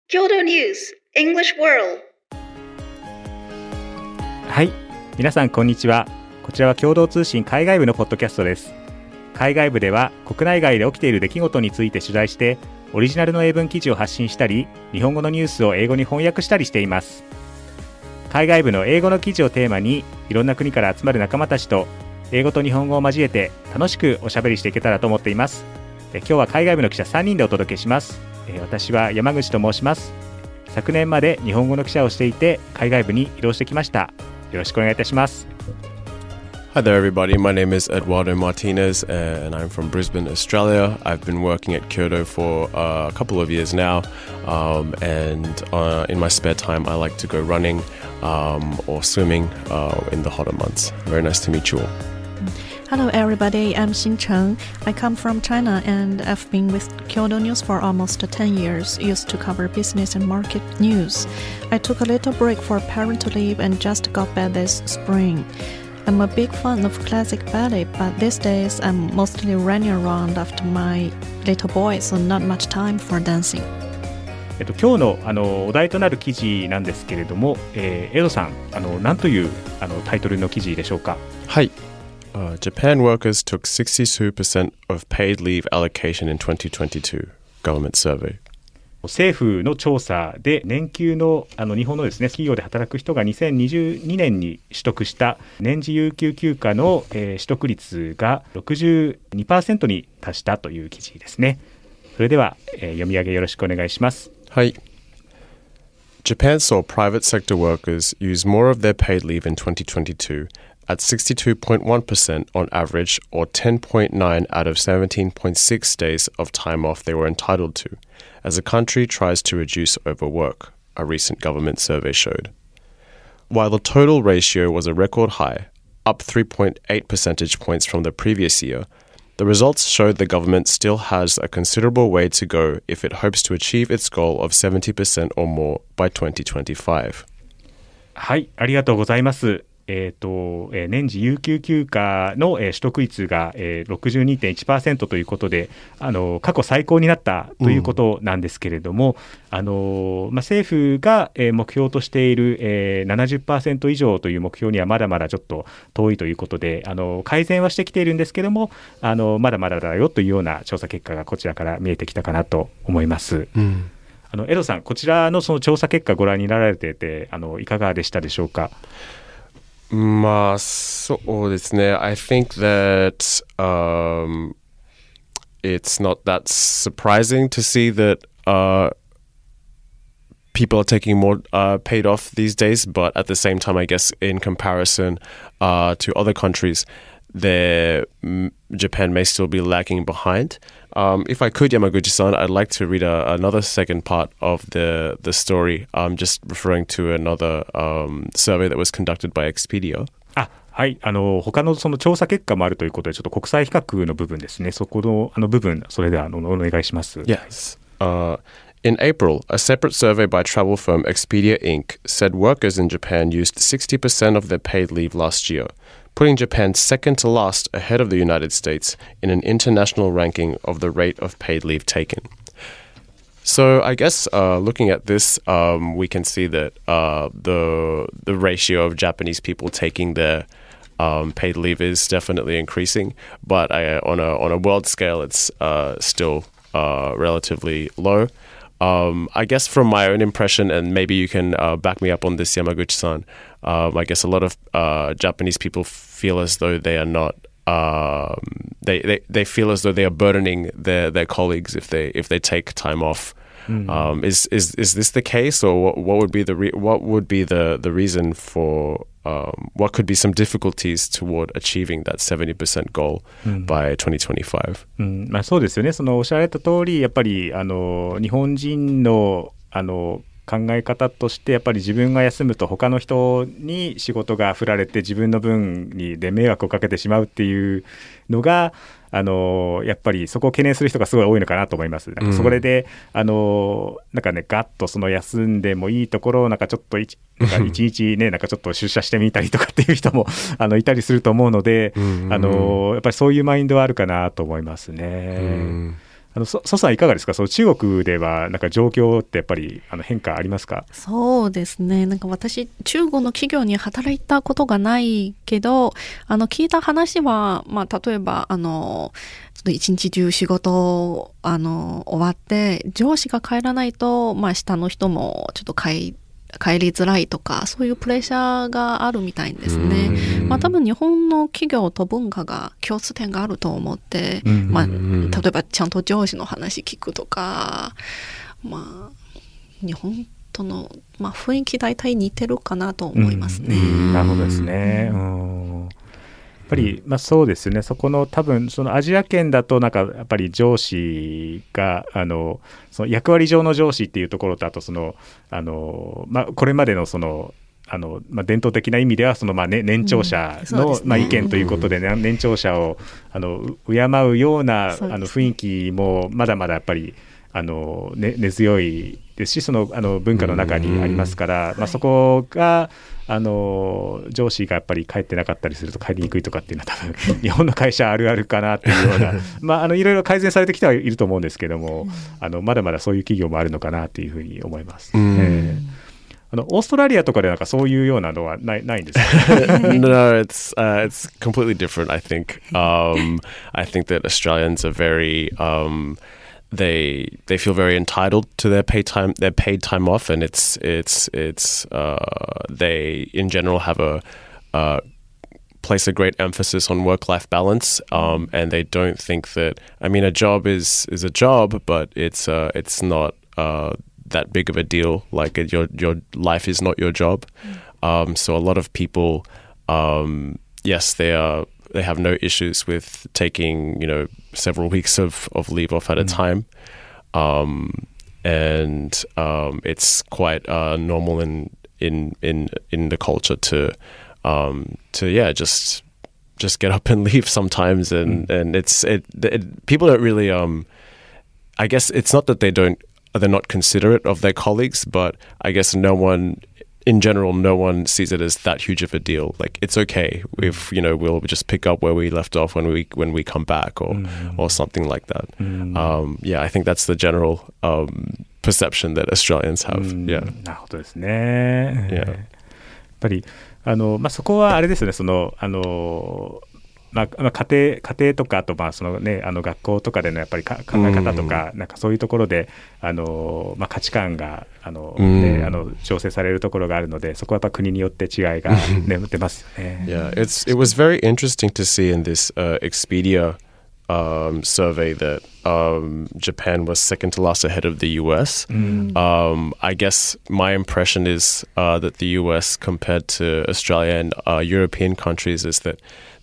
Kyoto News English World。 はい、皆さんこんにちは。こちらは共同通信海外部のポッドキャストです。海外部では国内外で起きている出来事について取材してオリジナルの英文記事を発信したり、日本語のニュースを英語に翻訳したりしています。海外部の英語の記事をテーマにいろんな国から集まる仲間たちと英語と日本語を交えて楽しくおしゃべりしていけたらと思っています。今日は海外部の記者3人でお届けします。私は山口と申します。昨年まで日本語の記者をしていて海外部に移動してきました。よろしくお願いいたします。 Hi there, everybody. My name is Eduardo Martinez, and I'm from Brisbane, Australia. I've been working at Kyoto for a couple of years now, and in my spare time, I like to go running or swimming in the hotter months. Very nice to meet you all. Hello everybody, I'm Xin Cheng. I come from China and I've been with Kyodo News for almost 10 years, used to cover business and market news. I took a little break for parental leave and just got back this spring. I'm a big fan of classic ballet, but these days I'm mostly running around after my little boy, so not much time for dancing. 今日のお題となる記事なんですけれども、エドさん、何というタイトルの記事でしょうか。 はい。Japan workers took 62% of paid leave allocation in 2022 government survey. 政府の調査で年給の日本のですね、企業で働く人が2022年に取得した年次有給休暇の、取得率が 62% に達したという記事ですね。それでは、読み上げよろしくお願いします。 はい。Japan saw private sector workers use more of their paid leave in 2022 at 62.1% on average, or 10.9 out of 17.6 days of time off they were entitled to, as the country tries to reduce overwork, a recent government survey showed. While the total ratio was a record high, up 3.8 percentage points from the previous year, the results showed the government still has a considerable way to go if it hopes to achieve its goal of 70% or more by 2025. はい、ありがとうございます。年次有給休暇の、取得率が、62.1% ということで過去最高になったということなんですけれども、政府が、目標としている、70% 以上という目標にはまだまだちょっと遠いということで改善はしてきているんですけれどもまだまだだよというような調査結果がこちらから見えてきたかなと思います。エドさん、こちらのその調査結果ご覧になられていていかがでしたでしょうか。 まあそうですね。I think that it's not that surprising to see that people are taking more paid off these days, but at the same time, I guess in comparison to other countries, Japan may still be lagging behind. If I could, Yamaguchi-san, I'd like to read another second part of the story, just referring to another survey that was conducted by Expedia. はい、他のその調査結果もあるということでちょっと国際比較の部分ですね。そこの部分、それではお願いします。 Yes. In April, a separate survey by travel firm Expedia Inc. said workers in Japan used 60% of their paid leave last year, putting Japan second to last ahead of the United States in an international ranking of the rate of paid leave taken. So I guess looking at this, we can see that the ratio of Japanese people taking their paid leave is definitely increasing, but on a world scale, it's still relatively low. I guess from my own impression, and maybe you can back me up on this, Yamaguchi-san, I guess a lot of Japanese people feel as though they are not they feel as though they are burdening their colleagues if they take time off. Is this the case, or what would be the reason for what could be some difficulties toward achieving that 70% goal by 2025? そうですよね。そのおっしゃられた通り、やっぱり日本人の考え方としてやっぱり自分が休むと他の人に仕事が振られて自分の分で迷惑をかけてしまうっていうのがやっぱりそこを懸念する人がすごい多いのかなと思います。なんかそれで、なんかねガッとその休んでもいいところをなんかちょっと一日ねなんかちょっと出社してみたりとかっていう人もいたりすると思うので、やっぱりそういうマインドはあるかなと思いますね。 蘇さんいかがですか？その中国ではなんか状況ってやっぱり変化ありますか？ そうですね。なんか私、中国の企業に働いたことがないけど、聞いた話は、例えば、ちょっと一日中仕事、終わって、上司が帰らないと、下の人もちょっと帰りづらいとか、そういうプレッシャーがあるみたいですね。多分日本の企業と文化が共通点があると思って、例えばちゃんと上司の話聞くとか、日本との、雰囲気大体似てるかなと思いますね。 なるほどですね。やっぱり、そうですね。そこの多分そのアジア圏だとなんかやっぱり上司がその役割上の上司っていうところと、あとそのこれまでのその伝統的な意味ではその年長者の意見ということで、年長者を敬うような雰囲気もまだまだやっぱり根強いですし、その文化の中にありますから、そこが上司がやっぱり帰ってなかったりすると帰りにくいとかっていうのは多分日本の会社あるあるかなっていうようないろいろ改善されてきてはいると思うんですけども、まだまだそういう企業もあるのかなっていうふうに思います。オーストラリアとかでなんかそういうようなのはないんですか？ No, it's completely different, I think. I think that Australians are very they feel very entitled to their paid time off, and it's they in general have place a great emphasis on work-life balance, and they don't think that, I mean, a job is a job, but it's not that big of a deal. Like your life is not your job. So a lot of people, yes, they have no issues with taking, several weeks of leave off at a time. And it's quite normal in the culture to just get up and leave sometimes, and people don't really I guess it's not that they're not considerate of their colleagues, but I guess no one sees it as that huge of a deal. Like, it's okay if we'll just pick up where we left off when we come back, or something like that. I think that's the general perception that Australians have. なるほどですね。やっぱりそこはあれですね。その家庭とか、あとそのね学校とかでのやっぱり考え方とか、なんかそういうところで価値観が調整されるところがあるので、そこはやっぱ国によって違いが出ますよね。 Yeah, it was very interesting to see in this Expedia survey that Japan was second to last ahead of the US. I guess my impression is that the US compared to Australia and European countries is that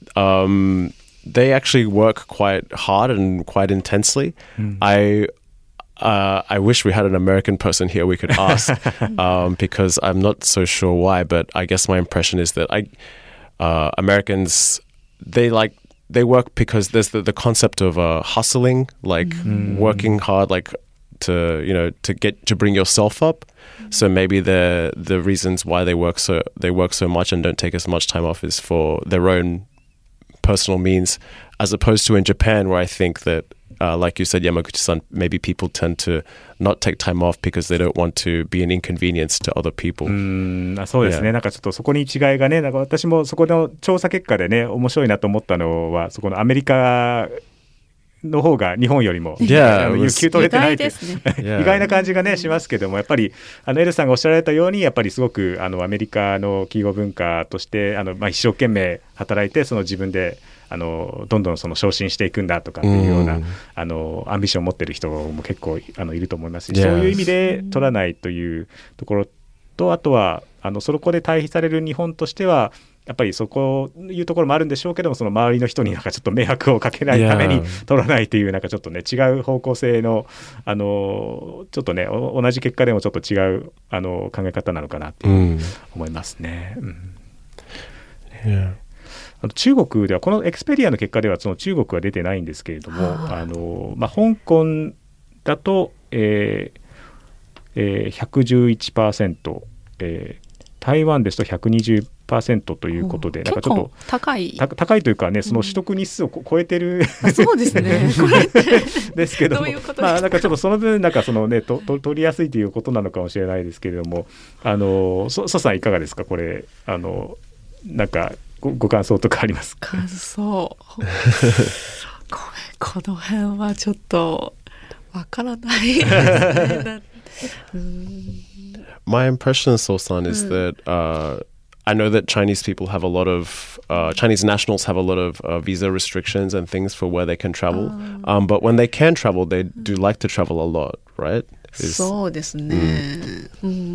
they actually work quite hard and quite intensely. I wish we had an American person here we could ask, because I'm not so sure why, but I guess my impression is that Americans, they work because there's the concept of hustling, like working hard, like to bring yourself up. So maybe the reasons why they work so much and don't take as much time off is for their own personal means, as opposed to in Japan, where I think that, like you said, Yamaguchi-san, maybe people tend to not take time off because they don't want to be an inconvenience to other people. そうですね。なんかちょっとそこに違いがね、なんか私もそこの調査結果でね、面白いなと思ったのは、そこのアメリカの方が日本よりも有給取れてないという意外な感じがねしますけども、やっぱりエルさんがおっしゃられたように、やっぱりすごくアメリカの企業文化として一生懸命働いて、その自分でどんどんその昇進していくんだとかっていうようなアンビションを持ってる人も結構いると思いますし、そういう意味で取らないというところと、あとはそこで対比される日本としては、やっぱりそこいうところもあるんでしょうけども、その周りの人になんかちょっと迷惑をかけないために取らないという、なんかちょっとね違う方向性のちょっとね同じ結果でもちょっと違う考え方なのかなって思いますね。中国ではこのエクスペリアの結果ではその中国は出てないんですけれども、香港だと、111%、台湾ですと120%、 30% ということで、なんかちょっと高いというかね、その取得日数を超えてる、 そうですねこれですけども、 どういうことですか。 まあなんかちょっとその分なんかそのね取りやすいということなのかもしれないですけれども、ソさんいかがですか、これなんかご感想とかありますか。 感想この辺はちょっとわからないですね。 My impression, So-san, is that I know that Chinese people have a lot of Chinese nationals have a lot of visa restrictions and things for where they can travel. But when they can travel, they do like to travel a lot, right? そうですね。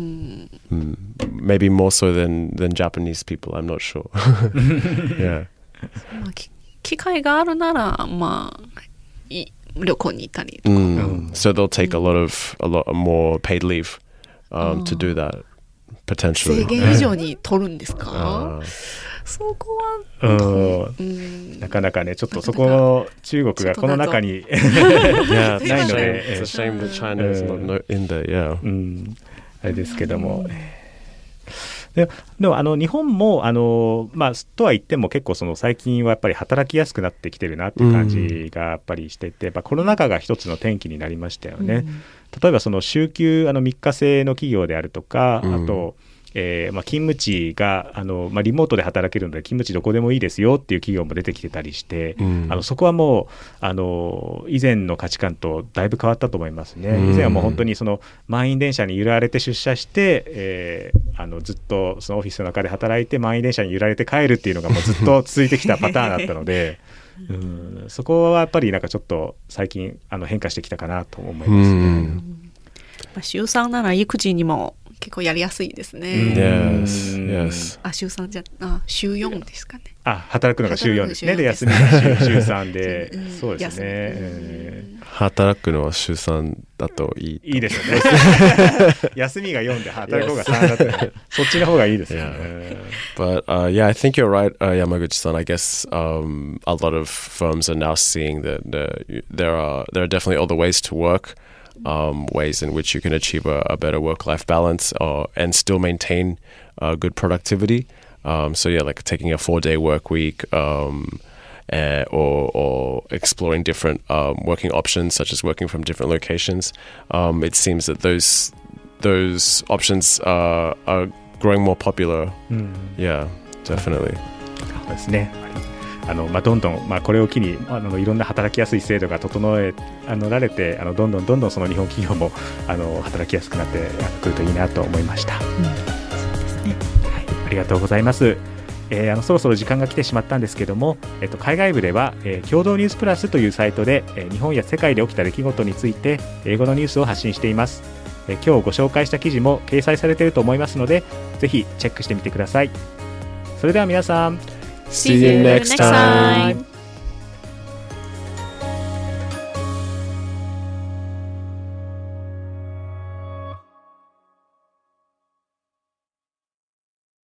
Maybe more so than Japanese people. I'm not sure. Yeah. 機会があるならまあ旅行に行ったりとか。 So they'll take a lot more paid leave to do that potentially. 制限以上に取るんですか。そこはなかなかねちょっとそこ中国がこの中にないので、 It's a shame that China is not in there. Yeah. あれですけども。でも日本もまあ、とは言っても結構その最近はやっぱり働きやすくなってきてるなっていう感じがやっぱりしてて、コロナ禍が一つの転機になりましたよね。例えばその週休3日制の企業であるとか、あと勤務地がリモートで働けるので勤務地どこでもいいですよっていう企業も出てきてたりして、そこはもう以前の価値観とだいぶ変わったと思いますね。以前はもう本当にその満員電車に揺られて出社して、ずっとそのオフィスの中で働いて満員電車に揺られて帰るっていうのがもうずっと続いてきたパターンだったのでそこはやっぱりなんかちょっと最近変化してきたかなと思いますね。 週3なら育児にも結構やりやすいですね。 Yes. 週3じゃ週4ですかね。 働くのが週4ですね。で休みが週3で、そうですね。 働くのは週3だといいですよね。休みが4で働く方が3だとそっちの方がいいですよね。 But yeah, I think you're right, Yamaguchi-san. I guess a lot of firms are now seeing that there are definitely other ways to work. Ways in which you can achieve a better work-life balance and still maintain good productivity. So yeah, like taking a 4-day work week or exploring different working options, such as working from different locations. It seems that those options are growing more popular. Yeah, definitely. そうですね。どんどん、これを機にいろんな働きやすい制度が整えられてどんどんその日本企業も働きやすくなってくるといいなと思いました。そうですね。はい、ありがとうございます。そろそろ時間が来てしまったんですけども、海外部では、共同ニュースプラスというサイトで、日本や世界で起きた出来事について英語のニュースを発信しています。今日ご紹介した記事も掲載されていると思いますのでぜひチェックしてみてください。それでは皆さん See you next time.